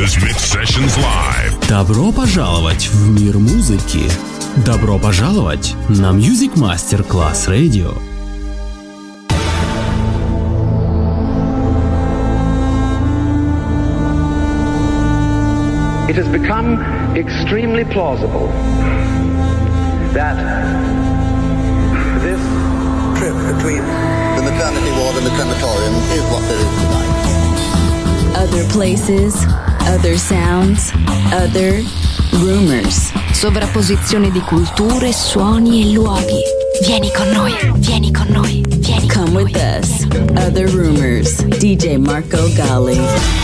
is Mix Sessions Live. Добро пожаловать в мир музыки. Добро пожаловать на Music Master Class Radio. It has become extremely plausible that this trip between the maternity ward and the crematorium is what there is tonight. Other places, other sounds, other rumors. Sovrapposizione di culture, suoni e luoghi. Vieni con noi, vieni con noi, vieni con noi. Come with us. Other rumors. DJ Marco Gally.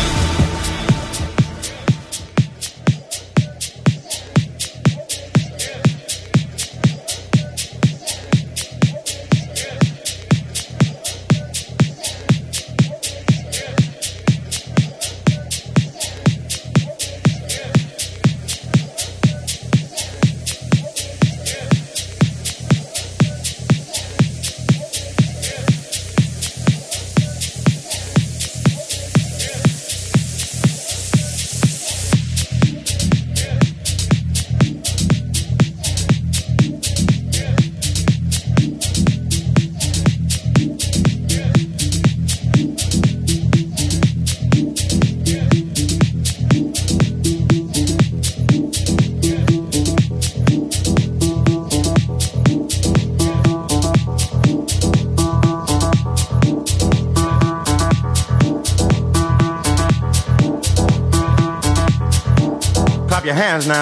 Your hands now.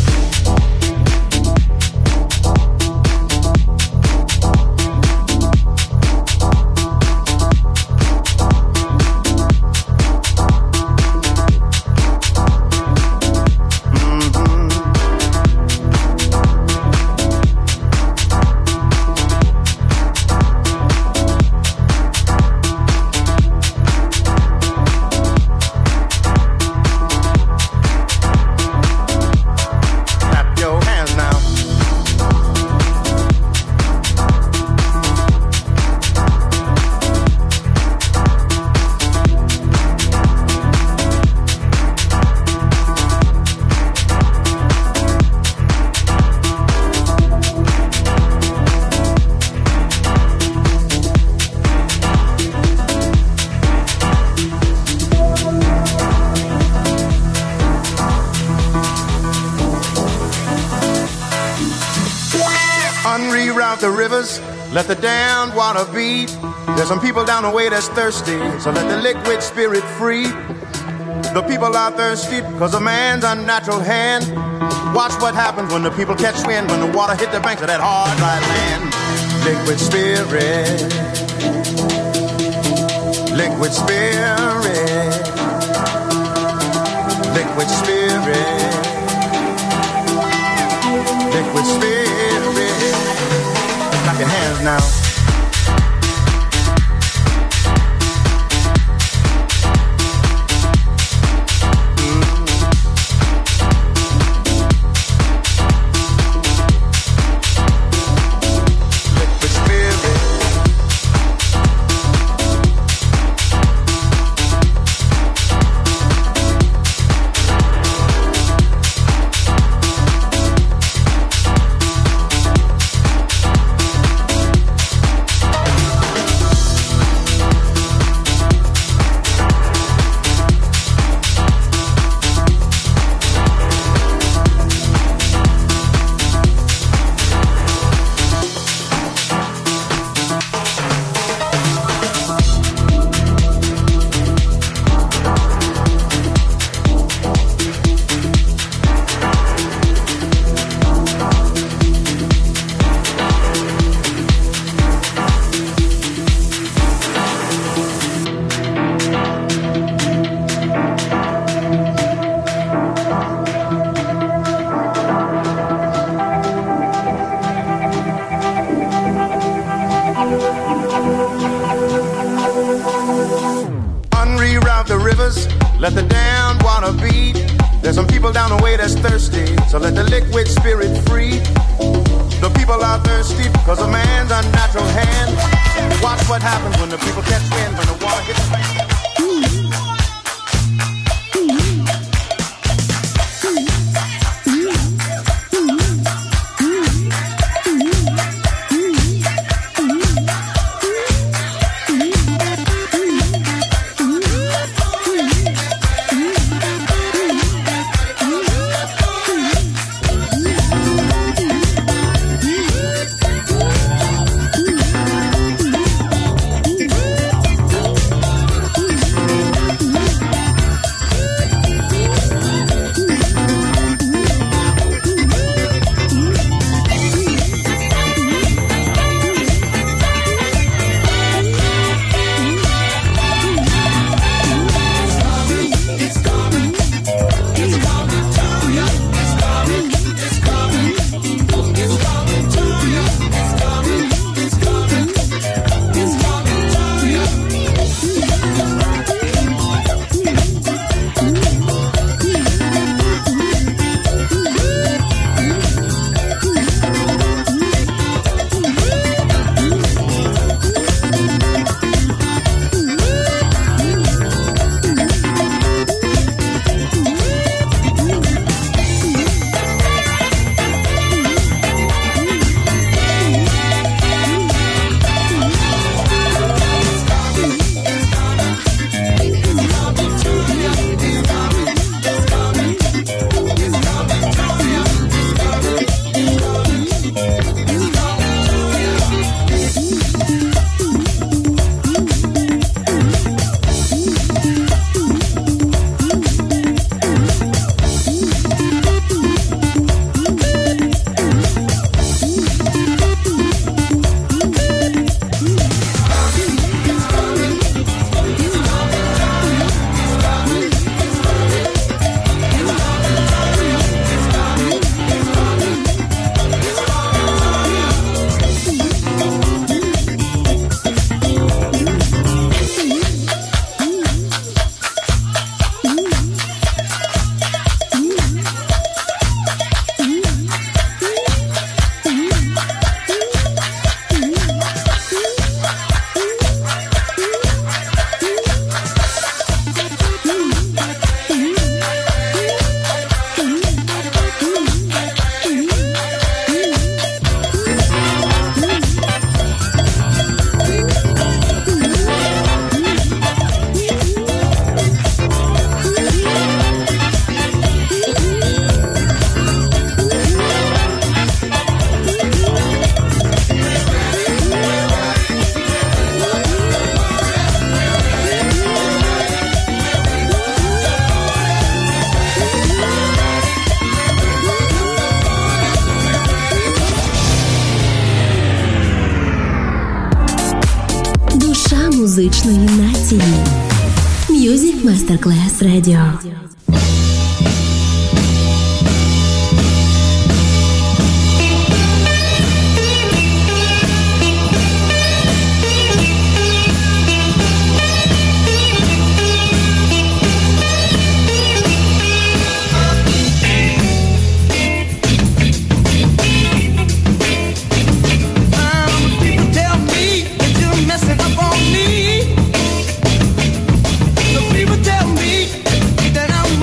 The rivers, let the damned water beat. There's some people down the way that's thirsty, so let the liquid spirit free. The people are thirsty because of man's unnatural hand. Watch what happens when the people catch wind, when the water hit the banks of that hard, dry land. Liquid spirit, liquid spirit, liquid spirit, liquid spirit. Clap your hands now. Let the damned water beat. There's some people down the way that's thirsty, so let the liquid spirit free. The people are thirsty because of man's unnatural hand. Watch what happens when the people catch wind, when the water hits the bank. музичної нації. Music Masterclass Radio. People tell me that I'm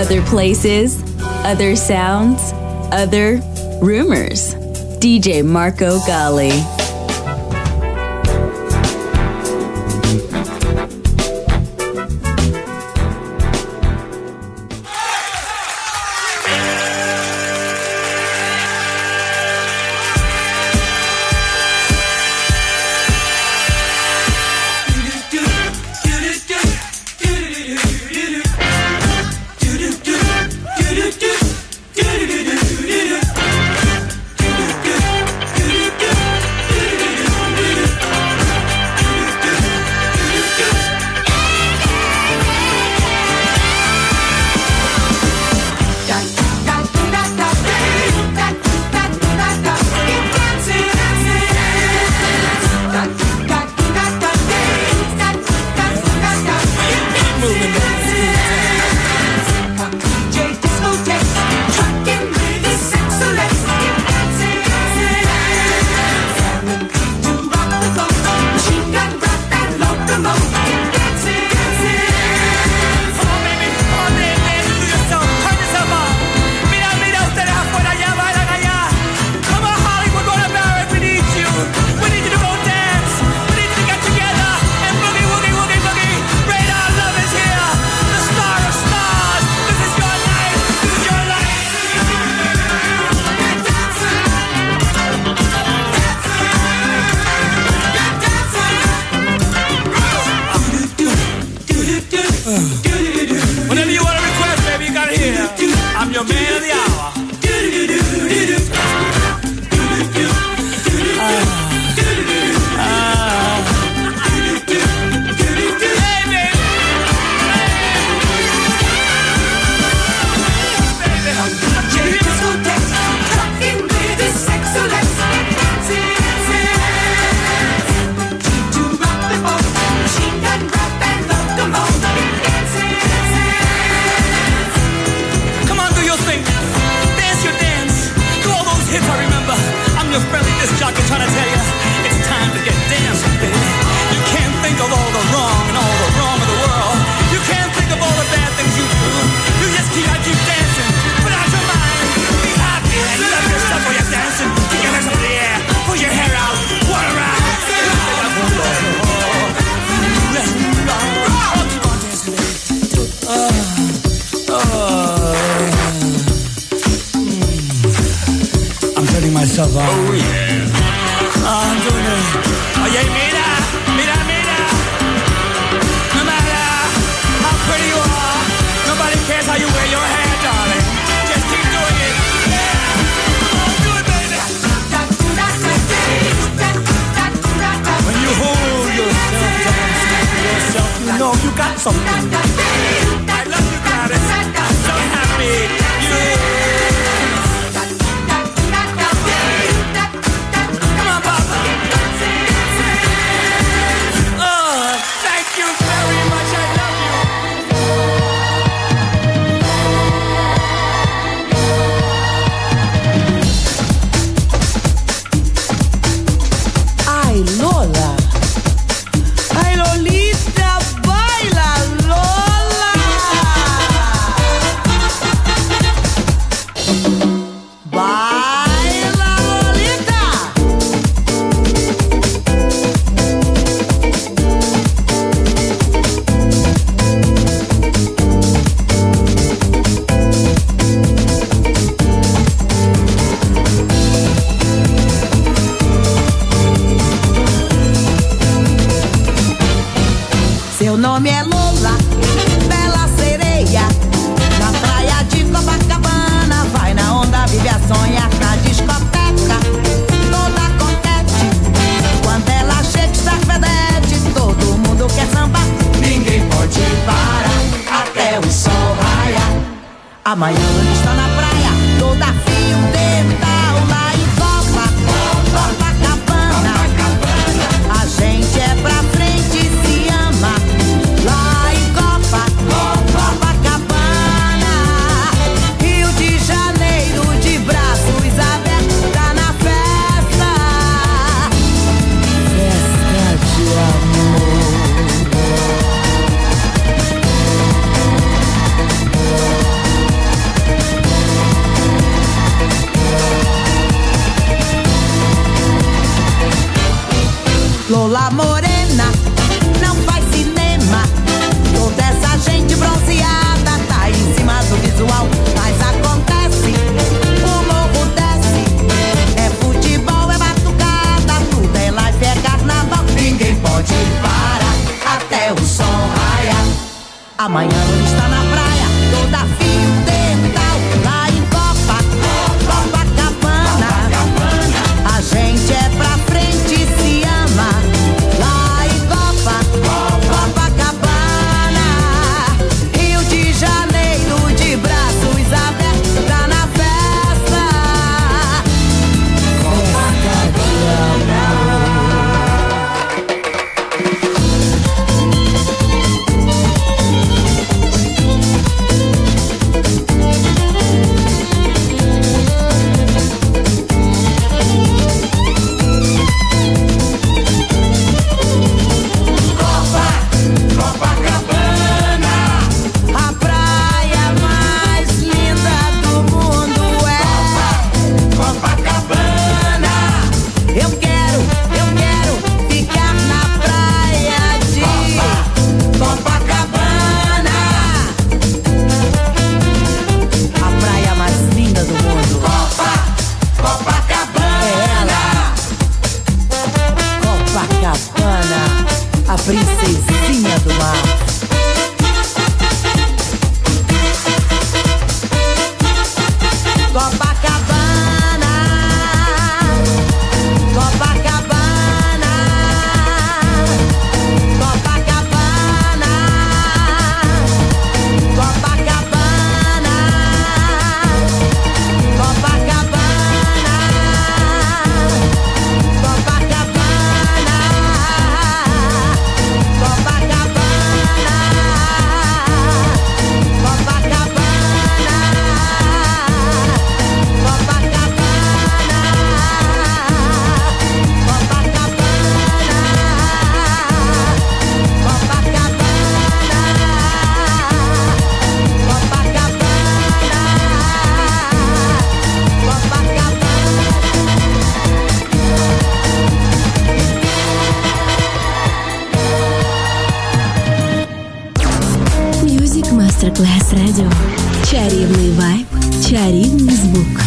Other places, other sounds, other rumors. DJ Marco Gally. Whatever you want to request, baby, you got it here. I'm your man of the hour. Friendly disc jockey trying to tell you it's time to get dancing, baby. You can't think of all the wrong and all the wrong of the world. You can't think of all the bad things you do. You just keep dancing, put out your mind, be happy, and love yourself while you're dancing. Keep your hands up in the air, pull your hair out, one around. Keep on dancing, baby. I'm turning myself on. Oh yeah. I'm doing it. Oye, mira. No matter how pretty you are, nobody cares how you wear your hair, darling. Just keep doing it. Yeah. Come on, do it, baby. When you hold yourself, dancing to yourself, you know you got something. I love you, Gladys. I'm so happy. Yeah. Seu nome é Lola, bela sereia. Na praia de Copacabana, vai na onda, vive a sonhar na discoteca, toda coquete. Quando ela chega, está fedete, todo mundo quer sambar. Ninguém pode parar até o sol raiar. Amanhã está na praia, toda fio dental, lá em Copacabana. A gente é pra frente, se ama. Lá em Copacabana, Rio de Janeiro, de braços abertos, tá na festa, festa de amor. Ela morena, não faz cinema. Toda essa gente bronzeada tá em cima do visual. Mas acontece, o morro desce. É futebol, é batucada, tudo é life, é carnaval. Ninguém pode parar até o sol raiar. Amanhã não está na praia, toda fio dental. Lá em Copacabana, a gente é pra frente e se ama. Lá em Copacabana, Rio de Janeiro, de braços abertos, tá na festa. A praia mais linda do mundo é Copacabana. Eu quero ficar na praia de Copacabana. A praia mais linda do mundo. Copacabana. É ela. Copacabana, a princesinha do mar. Copacabana, Copacabana, Copacabana, Copacabana, Copacabana, Copacabana, Music Masterclass Radio. Чарівний вайб, чарівний звук.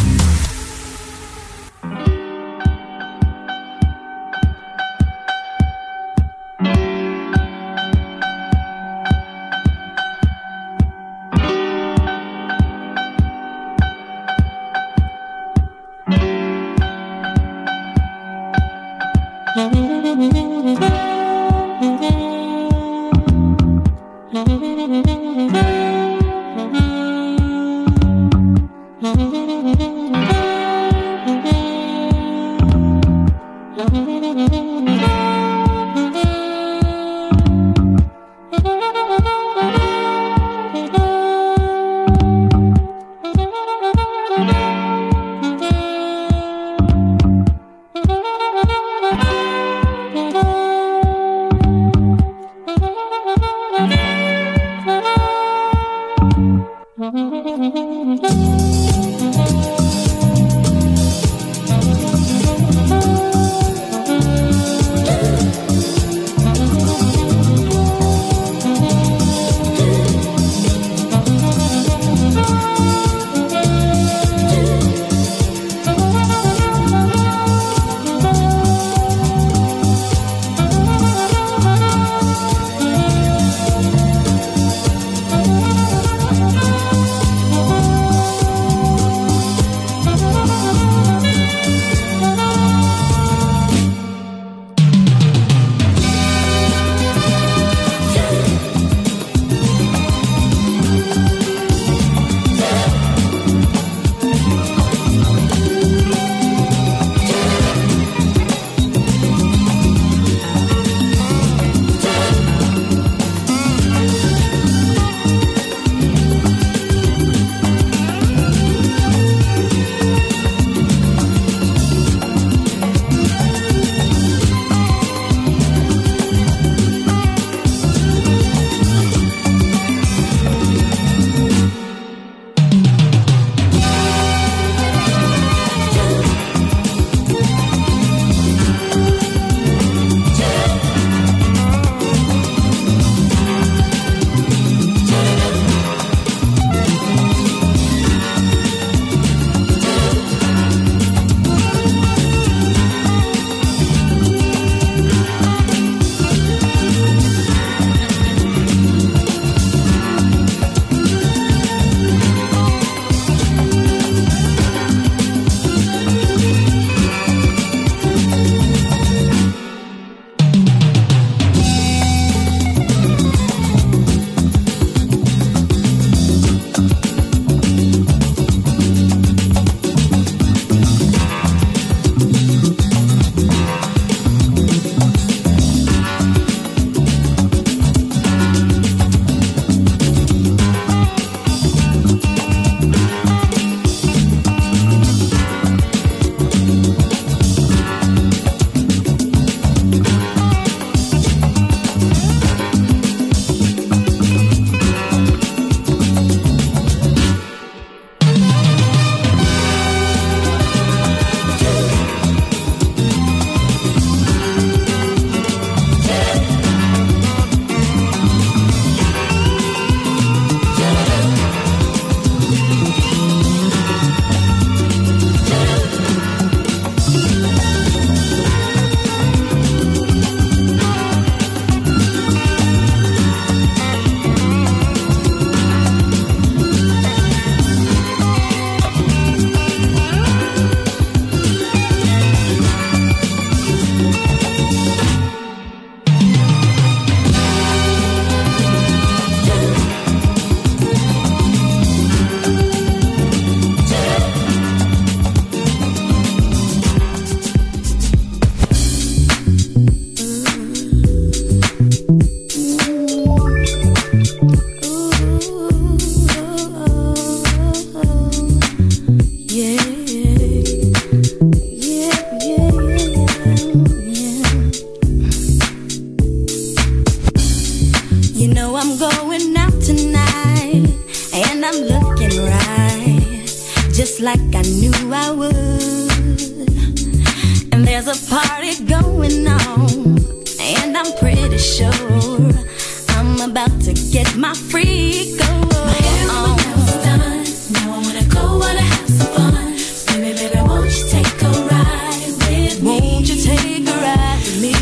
like I knew I would. And there's a party going on, and I'm pretty sure I'm about to get my freak on. My hair and my nails done. Now I wanna go, wanna have some fun. Baby, baby, won't you take a ride with me? Won't you take a ride with me?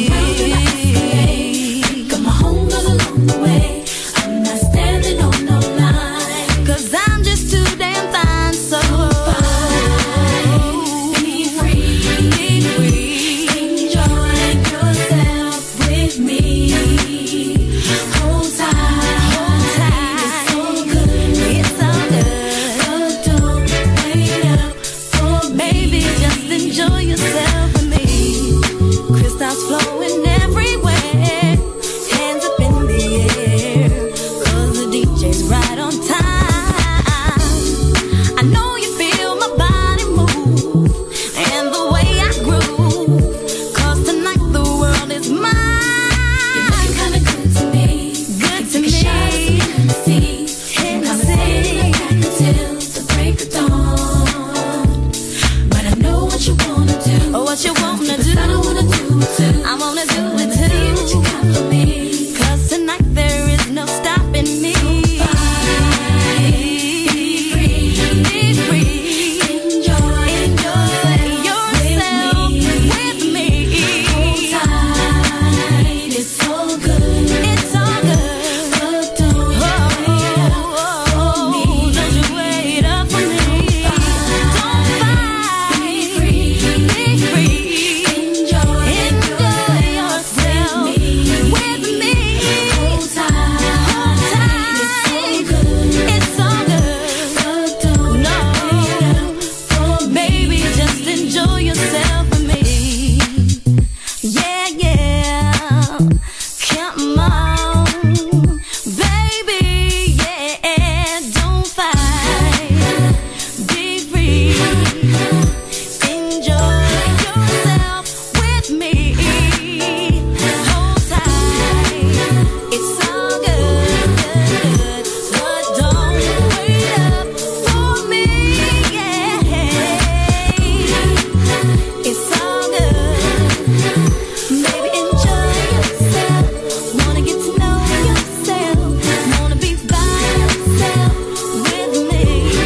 Got my home girl along the way. I'm not standing on no line, 'cause I'm just too damn fine, so be free, be free. Enjoy yourself with me. Hold tight, it's so good, it's all good. But don't wait up for baby, just enjoy yourself with me. Crystals flowing everywhere, hands up in the air, 'cause the DJ's right on time. I know you feel my body move and the way I groove, 'cause tonight the world is mine. You're looking kinda good to me, good to me. Hennessy, like I can till the break of dawn. But I know what you wanna do. Oh, what you wanna do? I don't wanna do it too. I wanna do it too. See what you got for me, 'cause tonight there is no stopping me. Be free, be free. Enjoy yourself with me. Hold tight, it's all good, it's all good. But don't wait up for me. Don't you wait up for me. Don't fight. Be free, be free. Enjoy yourself with me. Hold tight, it's all good. But don't wait up for baby, just enjoy yourself with me. Yeah, yeah, come on, baby, yeah, don't fight, be free, enjoy yourself with me. Hold tight, it's all good, but don't wait up for me, yeah, it's all good. Baby, enjoy yourself. Wanna get to know yourself. Wanna be by yourself with me.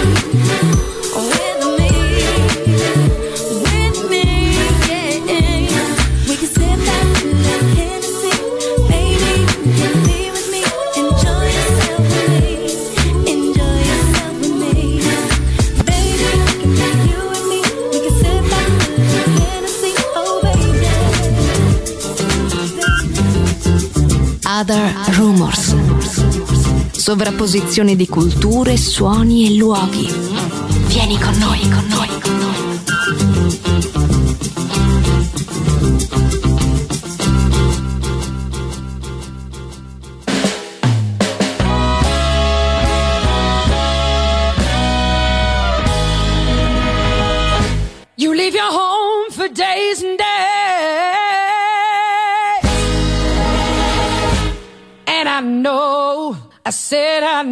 With me. With me, yeah. We can sit back and let Hennessy. Baby, you can be with me. Enjoy yourself with me. Enjoy yourself with me. Baby, it can be you and me. We can sit back and let Hennessy. Oh, baby. Other Rumors. Sovrapposizione di culture, suoni e luoghi. Vieni con noi, con noi, con noi. You leave your home for days and days, and I know, I said I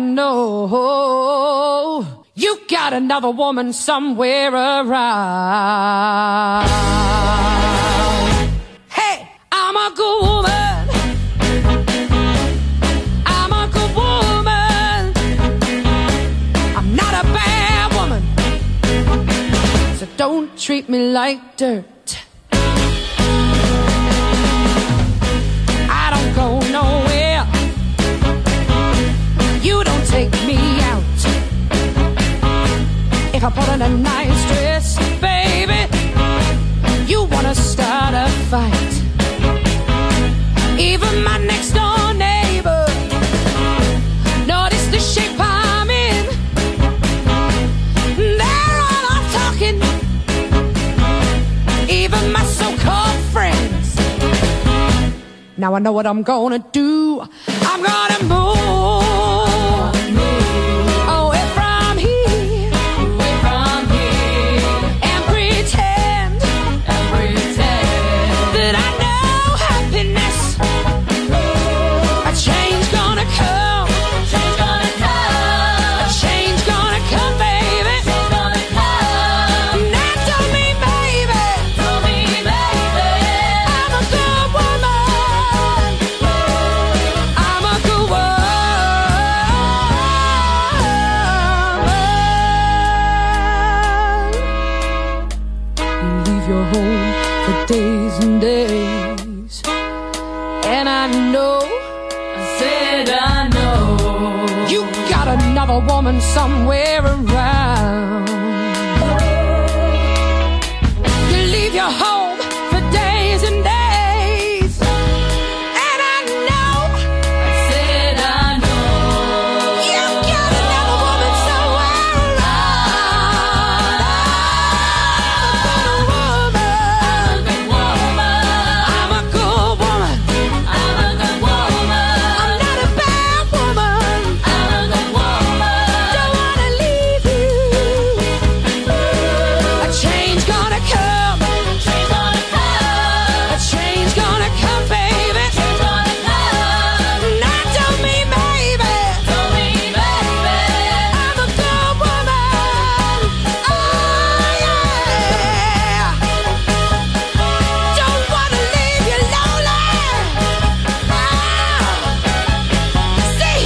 know, you got another woman somewhere around. Hey, I'm a good woman, I'm a good woman, I'm not a bad woman, so don't treat me like dirt. I don't go nowhere, you don't take me out. If I put on a nice dress, baby, you wanna start a fight. Even my next door neighbor noticed the shape I'm in. They're all off talking, even my so-called friends. Now I know what I'm gonna do. I'm gonna move away from here, and pretend that I know happiness. A change gonna come, a change gonna come, baby. woman somewhere around. You leave your home for days and days, and I know, I said I know, you've got another woman somewhere around. I'm a good woman. I'm a good woman. I'm a good woman. I'm not a bad woman. I'm a good woman. Don't wanna leave you. A change gonna come. Change gonna come. A change gonna come, baby. Change gonna come. Not to me, baby. To me, baby. I'm a good woman. Oh yeah. Don't wanna leave you lonely. See,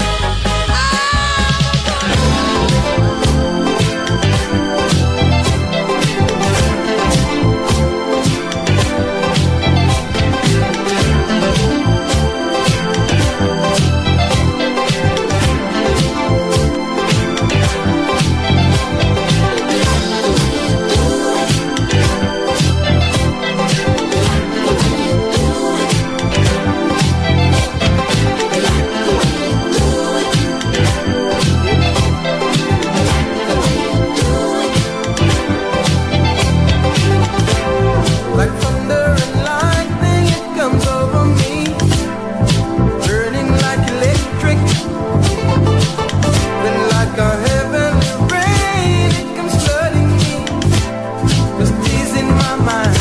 Like thunder and lightning, it comes over me, burning like electric. Then like a heavenly rain, it comes flooding me, just easing my mind,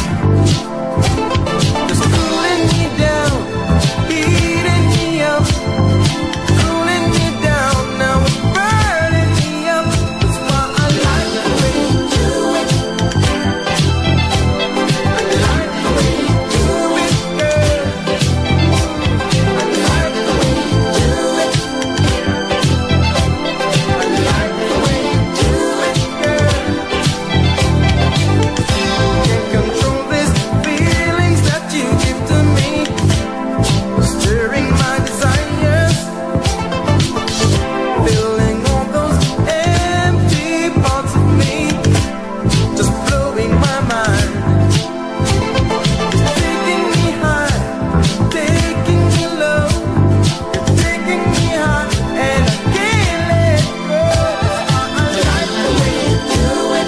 just cooling me down, heating me up, cooling me down. Now it's burning me up. That's why I like the way you do it. I like the way you do it, girl. I like the way you do it. I like the way you do it, girl. Can't control these feelings that you give to me, stirring my desires, filling all those empty parts of me, just blowing my mind. Taking me high, taking me low, you're taking me high, and I can't let go. I like the way you do it.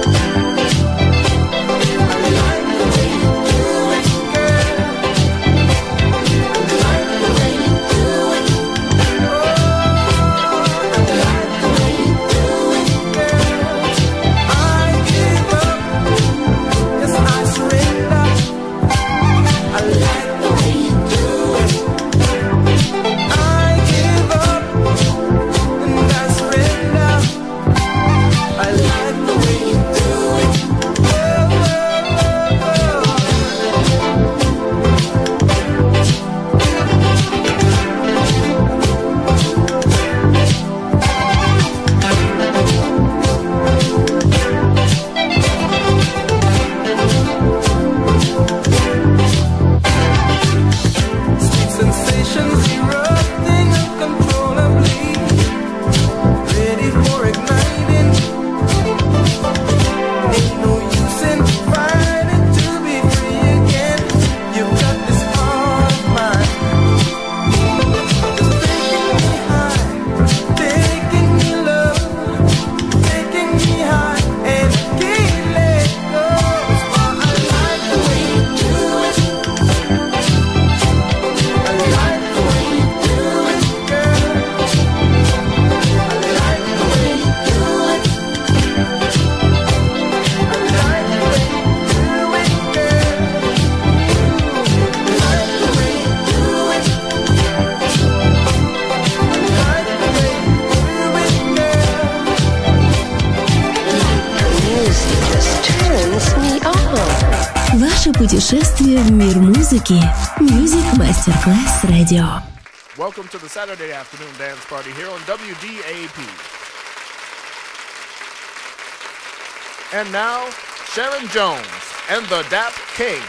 I like the way you do it, girl. I like the way you do it. Oh, I like the way you do it, girl. I give up, yes, I surrender. I like the way you do it. I give up and I surrender. I like the way you do it. Oh, sweet sensations erupting uncontrollably, ready for igniting. Ain't no use in fighting to be free again. You've got this heart of mine, just taking me high, taking me low, taking me high, and I can't let go. That's why I like the way you do it. I like the way you do it, girl. I like the way you do it. I like the way you do it, girl. I like the way you do it. I like the way you do it, girl. Ваше путешествие в мир музыки. Music Masterclass Radio. Welcome to the Saturday afternoon dance party here on WDAP. And now, Sharon Jones and the Dap Kings.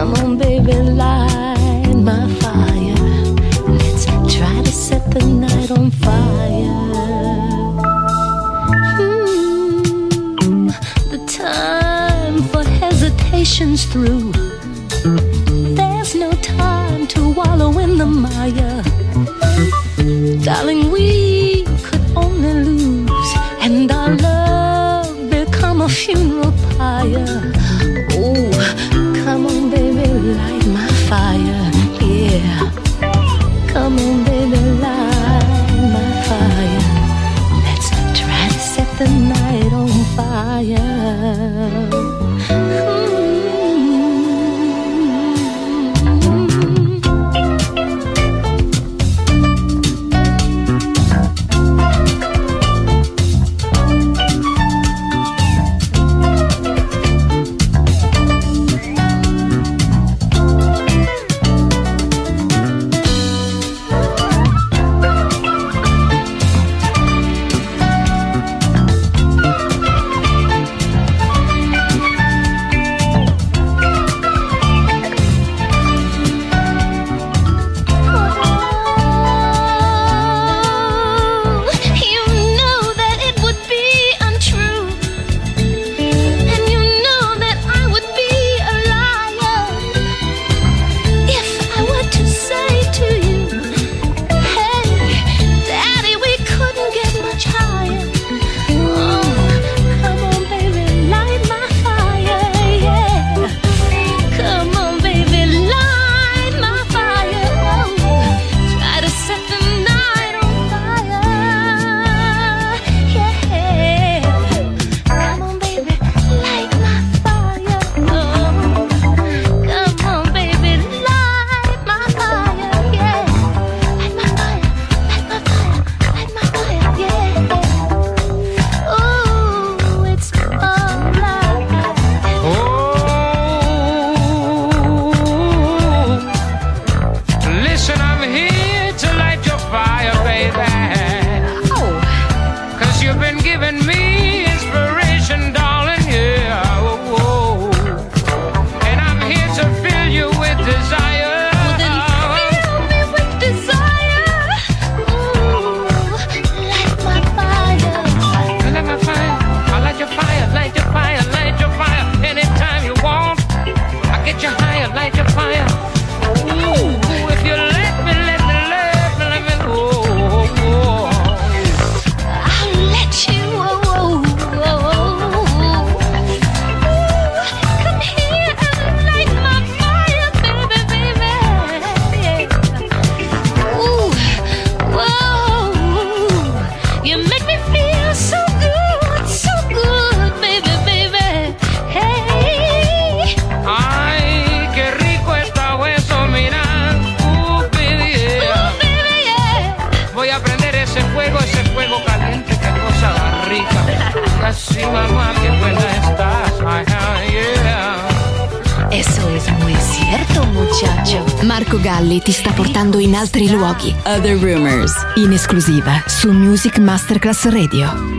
Come on, baby, light my fire. Let's try to set the night on fire. The time for hesitation's through. There's no time to wallow in the mire. Darling, we could only lose, and our love become a funeral pyre. Oh, come on, baby, light my fire, yeah. Come on, baby, light my fire. Let's try to set the night on fire. Marco Galli ti sta portando in altri luoghi. Other Rumors, in esclusiva su Music Masterclass Radio.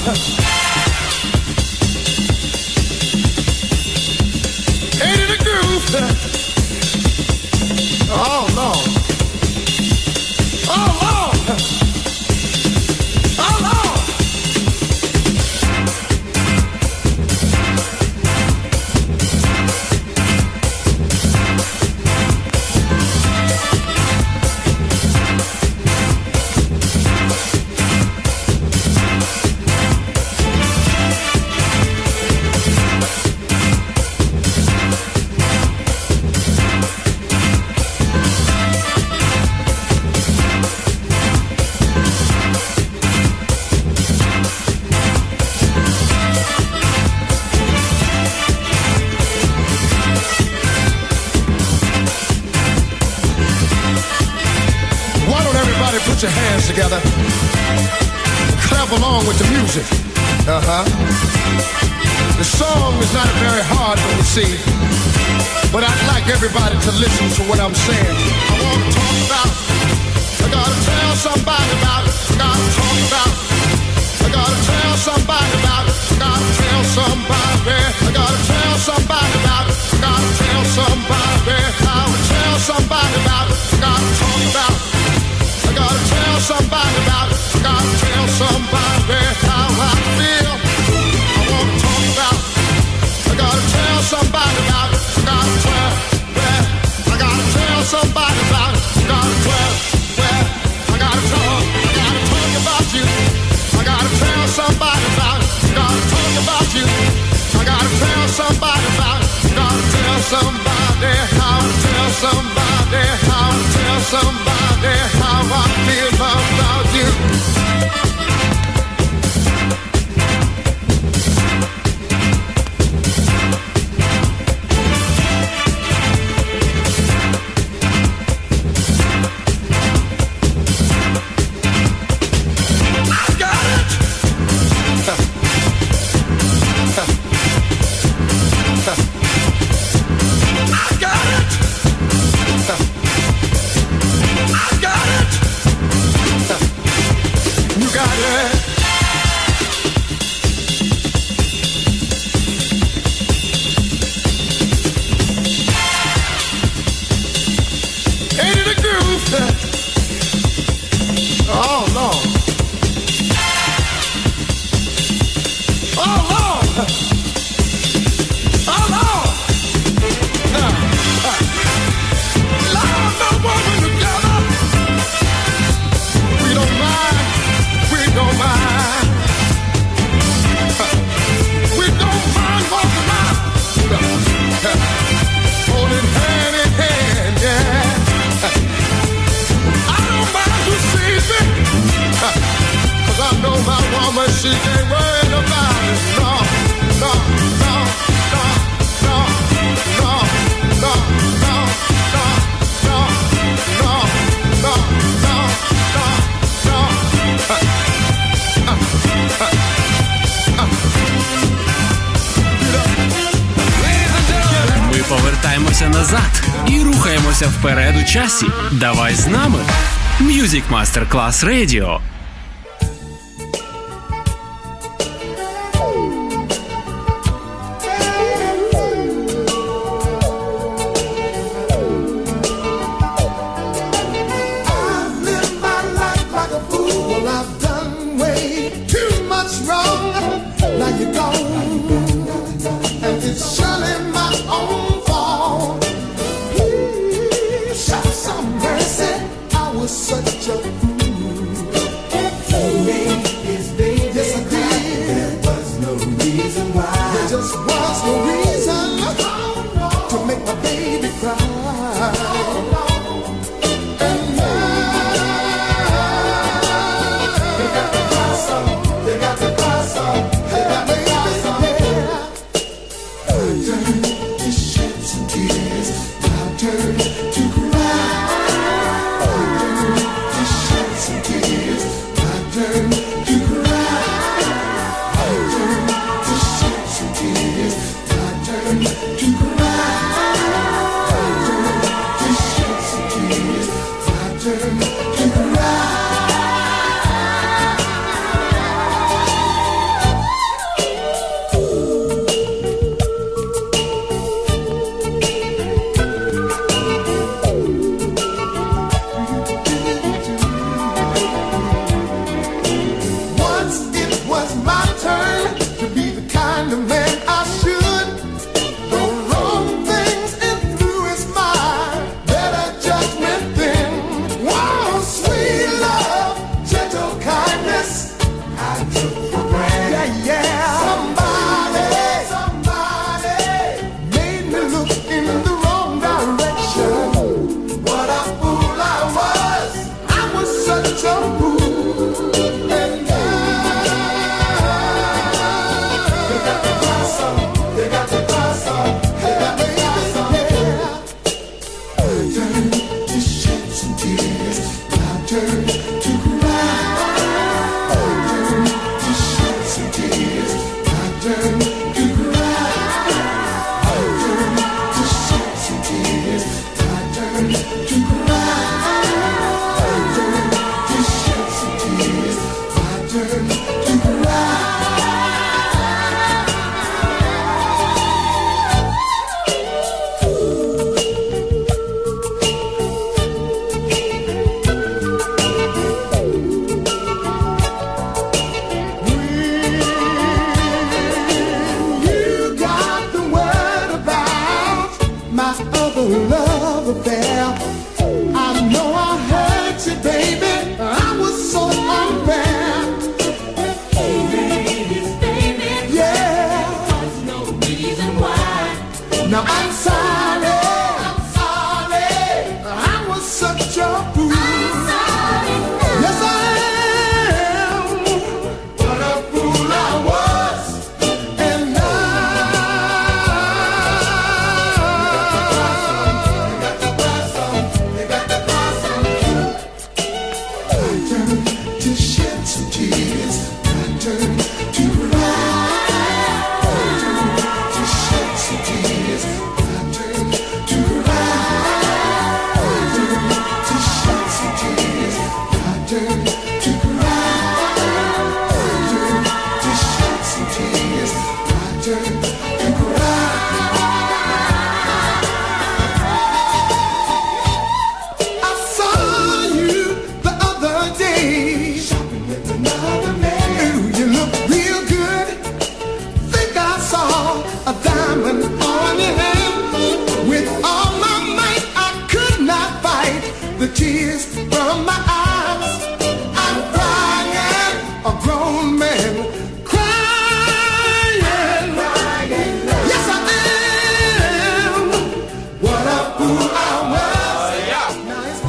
Ain't it a groove? Oh, Lord. Oh, Lord. Oh, Lord. Put your hands together. Clap along with the music. The song is not a very hard one to see, but I'd like everybody to listen to what I'm saying. I want to talk about, I gotta tell somebody about it. I gotta talk about, I gotta tell somebody about it. I gotta tell somebody, I gotta tell somebody about it. I gotta tell somebody, I would tell somebody about it. I gotta talk about, I gotta tell somebody about it. I gotta tell somebody how I feel. I wanna talk about it. I gotta tell somebody about it. I gotta tell, well, I gotta tell somebody about it. I gotta tell, well, I gotta talk about you. I gotta tell somebody about it. I gotta talk about you. I gotta tell somebody about it. I gotta tell somebody how to tell somebody how to tell somebody how I feel about you. Повертаємося назад і рухаємося вперед у часі. Давай з нами. Music Master Class Radio. Such a fool. love affair. I know I hurt you, baby. I was so unfair. Baby, yeah. There's no reason why. Now I'm sorry. I'm sorry. I was such a fool. I'm sorry. Yes, I am. What a fool I was. And to shed some tears, I turn to cry. To shed some tears, I turn to cry. To shed some tears, I turn to cry. To shed some tears, I turn to cry. I saw you the other day shopping with another man. Ooh, you look real good. Think I saw a diamond on your hand. With all my might, I could not fight the tears from my eyes. I'm crying, a grown man crying. Yes, I am. What a fool I was. Now it's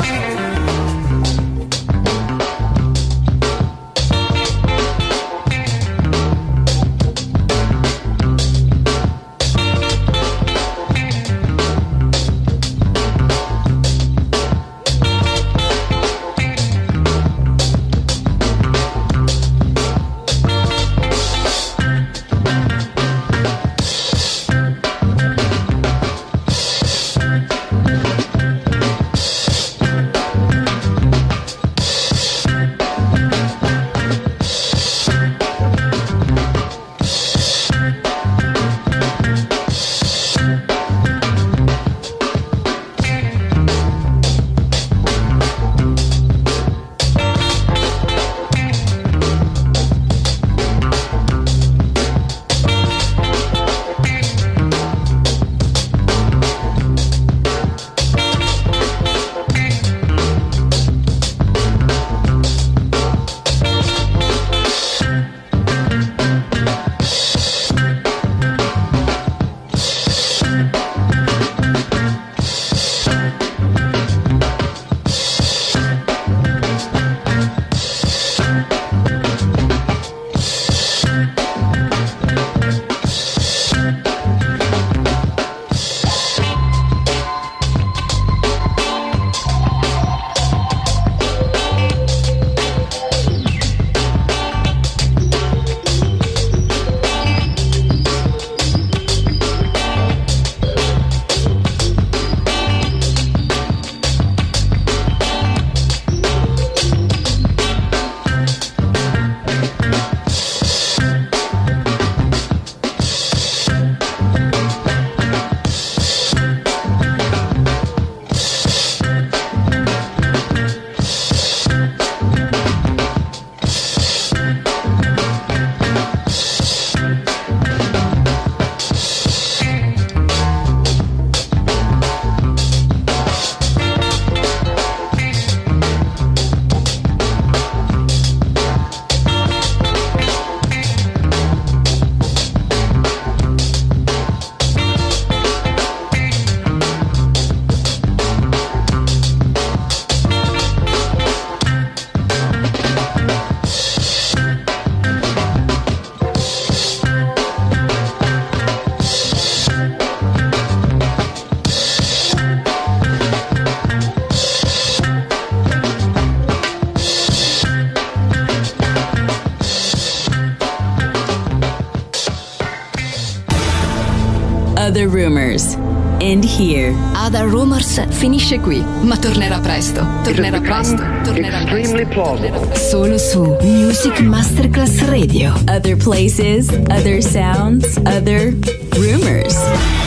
Other Rumors. End here. Other Rumors finisce qui, ma tornerà presto. Tornerà presto. Extremely plausible. Solo su Music Masterclass Radio. Other places, other sounds, other rumors.